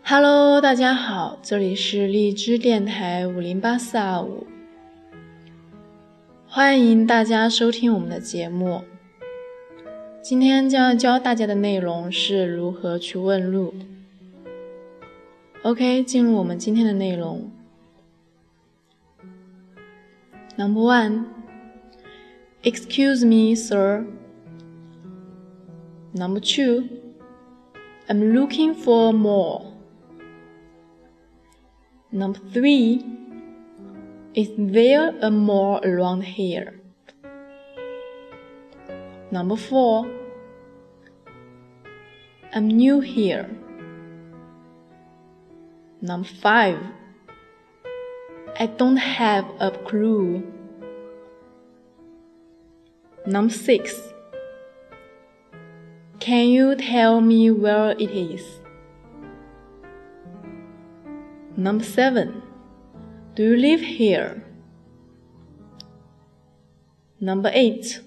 Hello， 大家好，这里是荔枝电台508425，欢迎大家收听我们的节目。今天将要教大家的内容是如何去问路。OK， 进入我们今天的内容。Number 1 Excuse me, sir. Number 2 I'm looking for more. Number 3 Is there a mall around here? Number 4 I'm new here. Number 5 I don't have a clue. Number 6 Can you tell me where it is? Number 7 Do you live here? Number 8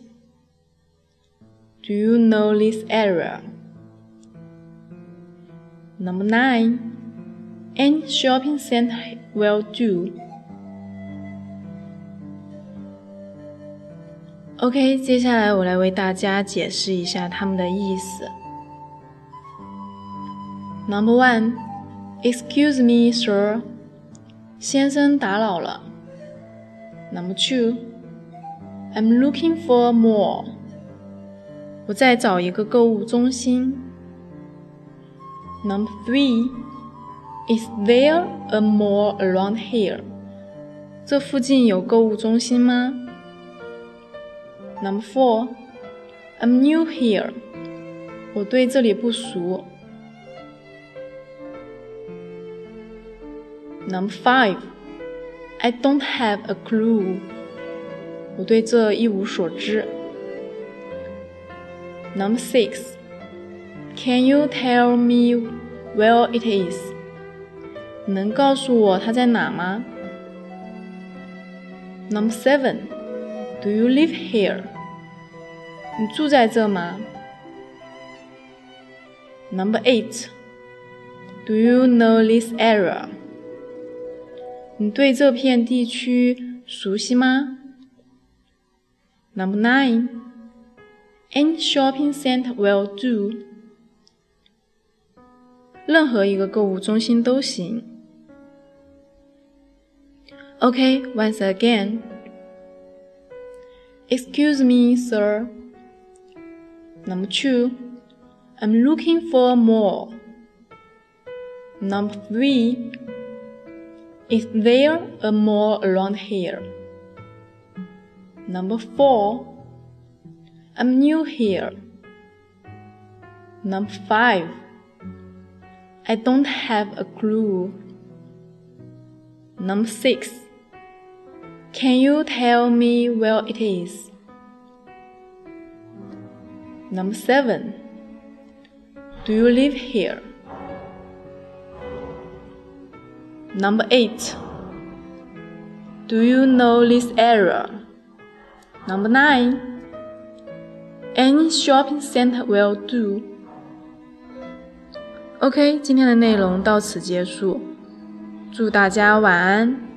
Do you know this area? Number 9 Any shopping center will do. OK， 接下来我来为大家解释一下它们的意思。Number 1 Excuse me, sir. 先生打扰了。Number 2 I'm looking for a mall. 我在找一个购物中心。Number 3 Is there a mall around here? 这附近有购物中心吗？ Number 4 I'm new here. 我对这里不熟。Number 5 I don't have a clue. 我对这一无所知。Number 6 Can you tell me where it is? 你能告诉我它在哪吗？ Number 7 Do you live here? 你住在这吗？ Number 8 Do you know this area? 你对这片地区熟悉吗？ Number 9 Any shopping center will do. 任何一个购物中心都行。OK, once again. Excuse me, sir. Number 2 I'm looking for a mall. Number 3 Is there a mall around here? Number 4 I'm new here. Number 5 I don't have a clue. Number 6 Can you tell me where it is? Number 7 Do you live here? Number 8 Do you know this area? Number 9 Any shopping center will do. OK， 今天的内容到此结束，祝大家晚安。